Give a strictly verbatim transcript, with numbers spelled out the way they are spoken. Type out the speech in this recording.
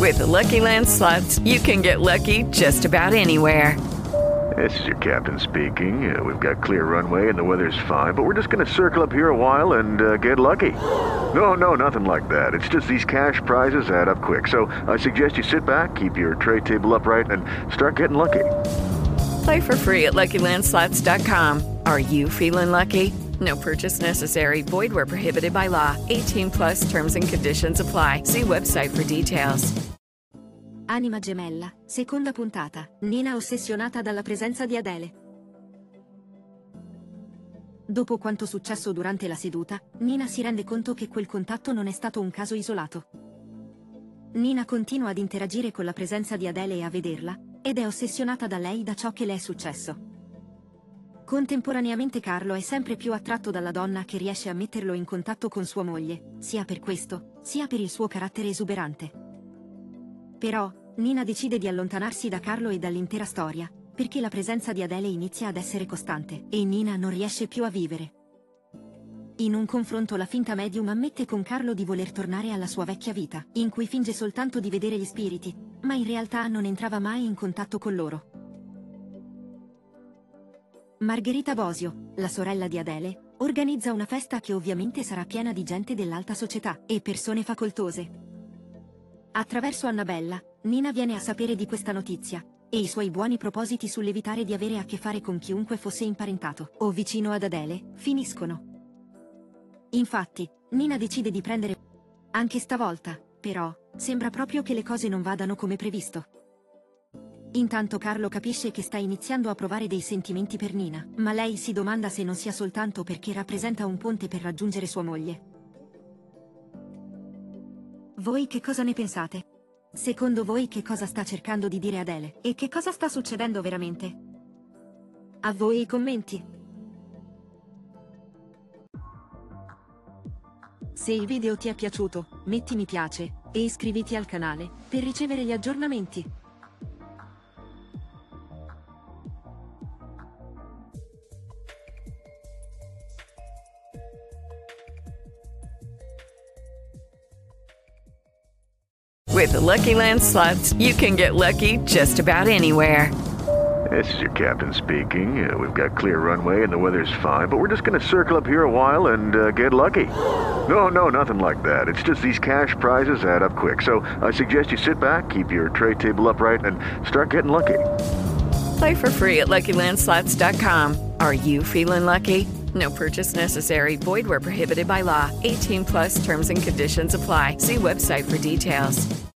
With the Lucky Land Slots, you can get lucky just about anywhere. This is your captain speaking. Uh, we've got clear runway and the weather's fine, but we're just going to circle up here a while and uh, get lucky. No, no, nothing like that. It's just these cash prizes add up quick. So I suggest you sit back, keep your tray table upright, and start getting lucky. Play for free at Lucky Land Slots dot com. Are you feeling lucky? No purchase necessary. Void where prohibited by law. eighteen plus terms and conditions apply. See website for details. Anima gemella, seconda puntata. Nina ossessionata dalla presenza di Adele. Dopo quanto successo durante la seduta, Nina si rende conto che quel contatto non è stato un caso isolato. Nina continua ad interagire con la presenza di Adele e a vederla, ed è ossessionata da lei da ciò che le è successo. Contemporaneamente Carlo è sempre più attratto dalla donna che riesce a metterlo in contatto con sua moglie, sia per questo, sia per il suo carattere esuberante. Però, Nina decide di allontanarsi da Carlo e dall'intera storia, perché la presenza di Adele inizia ad essere costante, e Nina non riesce più a vivere. In un confronto la finta medium ammette con Carlo di voler tornare alla sua vecchia vita, in cui finge soltanto di vedere gli spiriti, ma in realtà non entrava mai in contatto con loro. Margherita Bosio, la sorella di Adele, organizza una festa che ovviamente sarà piena di gente dell'alta società e persone facoltose. Attraverso Annabella, Nina viene a sapere di questa notizia, e i suoi buoni propositi sull'evitare di avere a che fare con chiunque fosse imparentato o vicino ad Adele, finiscono. Infatti, Nina decide di prendere... Anche stavolta, però, sembra proprio che le cose non vadano come previsto. Intanto Carlo capisce che sta iniziando a provare dei sentimenti per Nina, ma lei si domanda se non sia soltanto perché rappresenta un ponte per raggiungere sua moglie. Voi che cosa ne pensate? Secondo voi che cosa sta cercando di dire Adele? E che cosa sta succedendo veramente? A voi i commenti! Se il video ti è piaciuto, metti mi piace, e iscriviti al canale, per ricevere gli aggiornamenti. With the Lucky Land Slots, you can get lucky just about anywhere. This is your captain speaking. Uh, we've got clear runway and the weather's fine, but we're just going to circle up here a while and uh, get lucky. No, no, nothing like that. It's just these cash prizes add up quick. So I suggest you sit back, keep your tray table upright, and start getting lucky. Play for free at Lucky Land Slots dot com. Are you feeling lucky? No purchase necessary. Void where prohibited by law. eighteen plus terms and conditions apply. See website for details.